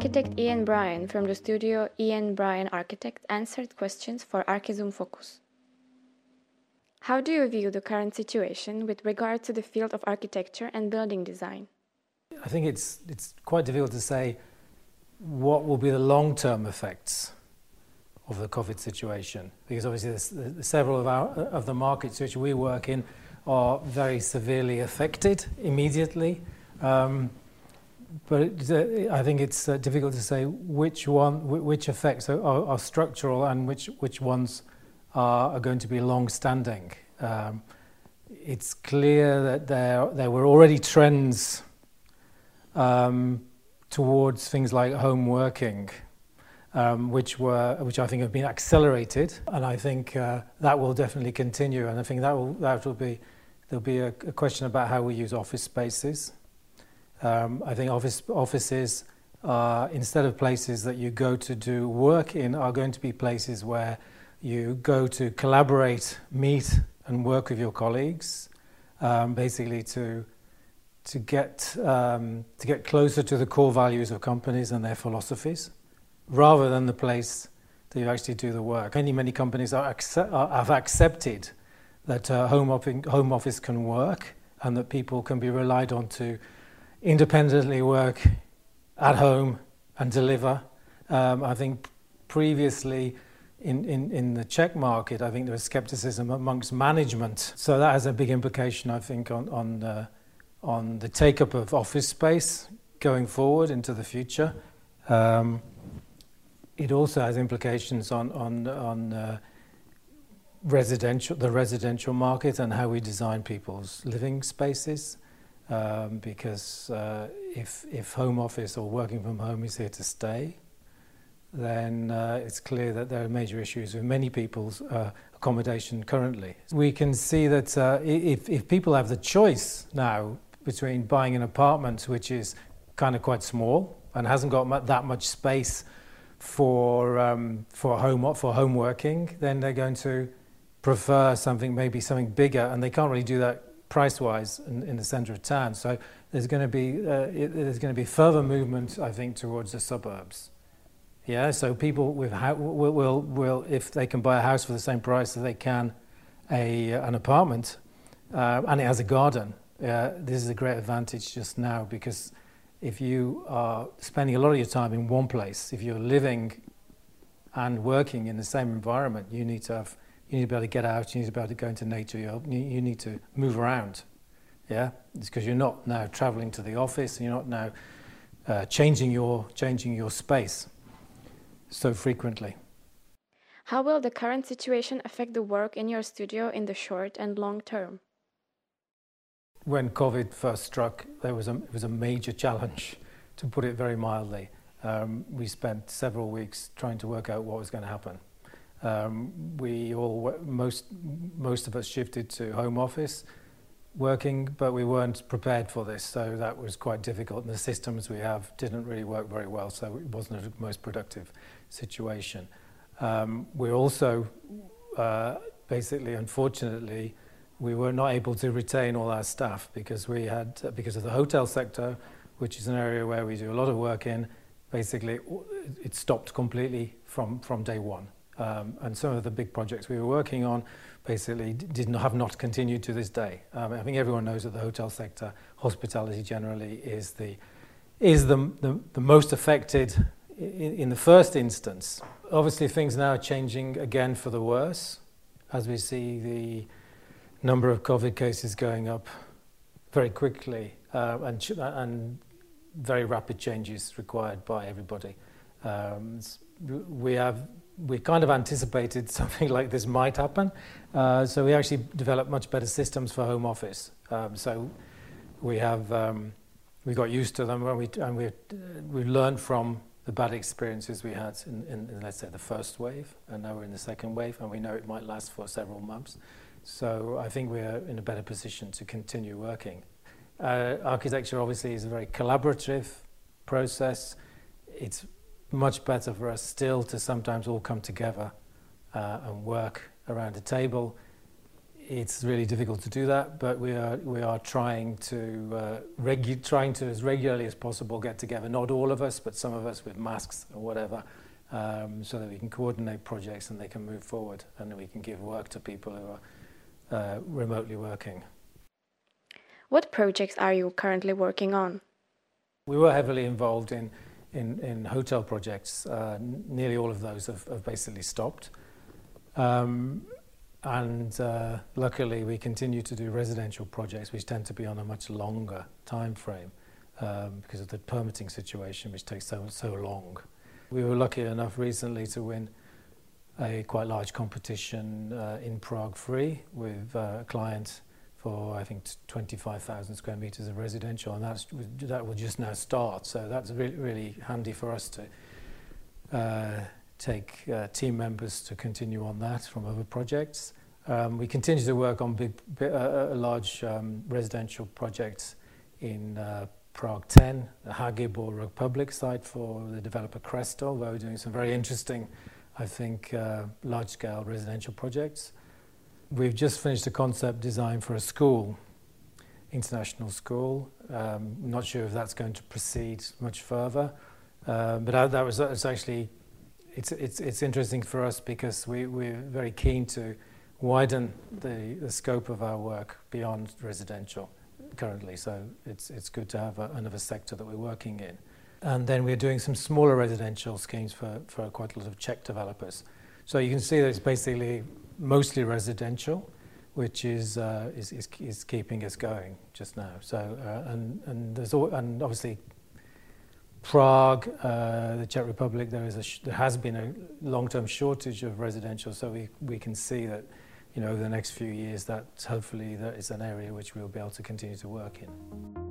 Architect Ian Bryan from the studio Ian Bryan Architect answered questions for Archizoom Focus. How do you view the current situation with regard to the field of architecture and building design? I think it's quite difficult to say what will be the long-term effects of the COVID situation, because obviously there's several of the markets which we work in are very severely affected immediately. But I think it's difficult to say which effects are structural and which ones are going to be long-standing. It's clear that there were already trends towards things like home working, which I think have been accelerated, and I think that will definitely continue. And I think there'll be a question about how we use office spaces. I think offices, instead of places that you go to do work in, are going to be places where you go to collaborate, meet, and work with your colleagues, basically to get closer to the core values of companies and their philosophies, rather than the place that you actually do the work. Many companies have accepted that home office can work and that people can be relied on to independently work at home and deliver. I think previously in the Czech market, I think there was skepticism amongst management. So that has a big implication, I think, on the take-up of office space going forward into the future. It also has implications on the residential market and how we design people's living spaces. Because if home office or working from home is here to stay, then it's clear that there are major issues with many people's accommodation currently. We can see that if people have the choice now between buying an apartment which is kind of quite small and hasn't got that much space for home working, then they're going to prefer something bigger, and they can't really do that price-wise in the centre of town. So there's going to be further movement, I think, towards the suburbs. Yeah, so people will if they can buy a house for the same price as they can an apartment, and it has a garden. This is a great advantage just now, because if you are spending a lot of your time in one place, if you're living and working in the same environment, you need to be able to get out, you need to be able to go into nature, you need to move around. Yeah? It's because you're not now travelling to the office, and you're not now changing your space so frequently. How will the current situation affect the work in your studio in the short and long term? When COVID first struck, it was a major challenge, to put it very mildly. We spent several weeks trying to work out what was going to happen. Most of us shifted to home office working, but we weren't prepared for this, so that was quite difficult. And the systems we have didn't really work very well, so it wasn't the most productive situation. We also, basically, unfortunately, we were not able to retain all our staff because of the hotel sector, which is an area where we do a lot of work in. Basically, it stopped completely from day one. And some of the big projects we were working on basically have not continued to this day. I think everyone knows that the hotel sector, hospitality generally, is the most affected in the first instance. Obviously, things now are changing again for the worse, as we see the number of COVID cases going up very quickly, and very rapid changes required by everybody. We kind of anticipated something like this might happen, so we actually developed much better systems for home office. So we got used to them, and we learned from the bad experiences we had in let's say the first wave, and now we're in the second wave, and we know it might last for several months. So I think we're in a better position to continue working. Architecture obviously is a very collaborative process. It's much better for us still to sometimes all come together and work around a table it's really difficult to do that, but we are trying to as regularly as possible get together. Not all of us, but some of us with masks or whatever, so that we can coordinate projects and they can move forward, and we can give work to people who are remotely working. What projects are you currently working on? We were heavily involved in hotel projects. Nearly all of those have basically stopped. Luckily we continue to do residential projects, which tend to be on a much longer time frame because of the permitting situation, which takes so long. We were lucky enough recently to win a quite large competition in Prague Free with a client for, I think, 25,000 square meters of residential, and that will just now start. So that's really, really handy for us to take team members to continue on that from other projects. We continue to work on large residential projects in Prague 10, the Hagibor Republic site for the developer Cresto, where we're doing some very interesting, I think, large-scale residential projects. We've just finished a concept design for a school, international school. Not sure if that's going to proceed much further, but it's actually it's interesting for us because we're very keen to widen the scope of our work beyond residential currently. So it's good to have another sector that we're working in. And then we're doing some smaller residential schemes for quite a lot of Czech developers. So you can see that it's basically mostly residential, which is keeping us going just now. So and obviously Prague, the Czech Republic, there has been a long-term shortage of residential. So we can see that, over the next few years, that hopefully that is an area which we'll be able to continue to work in.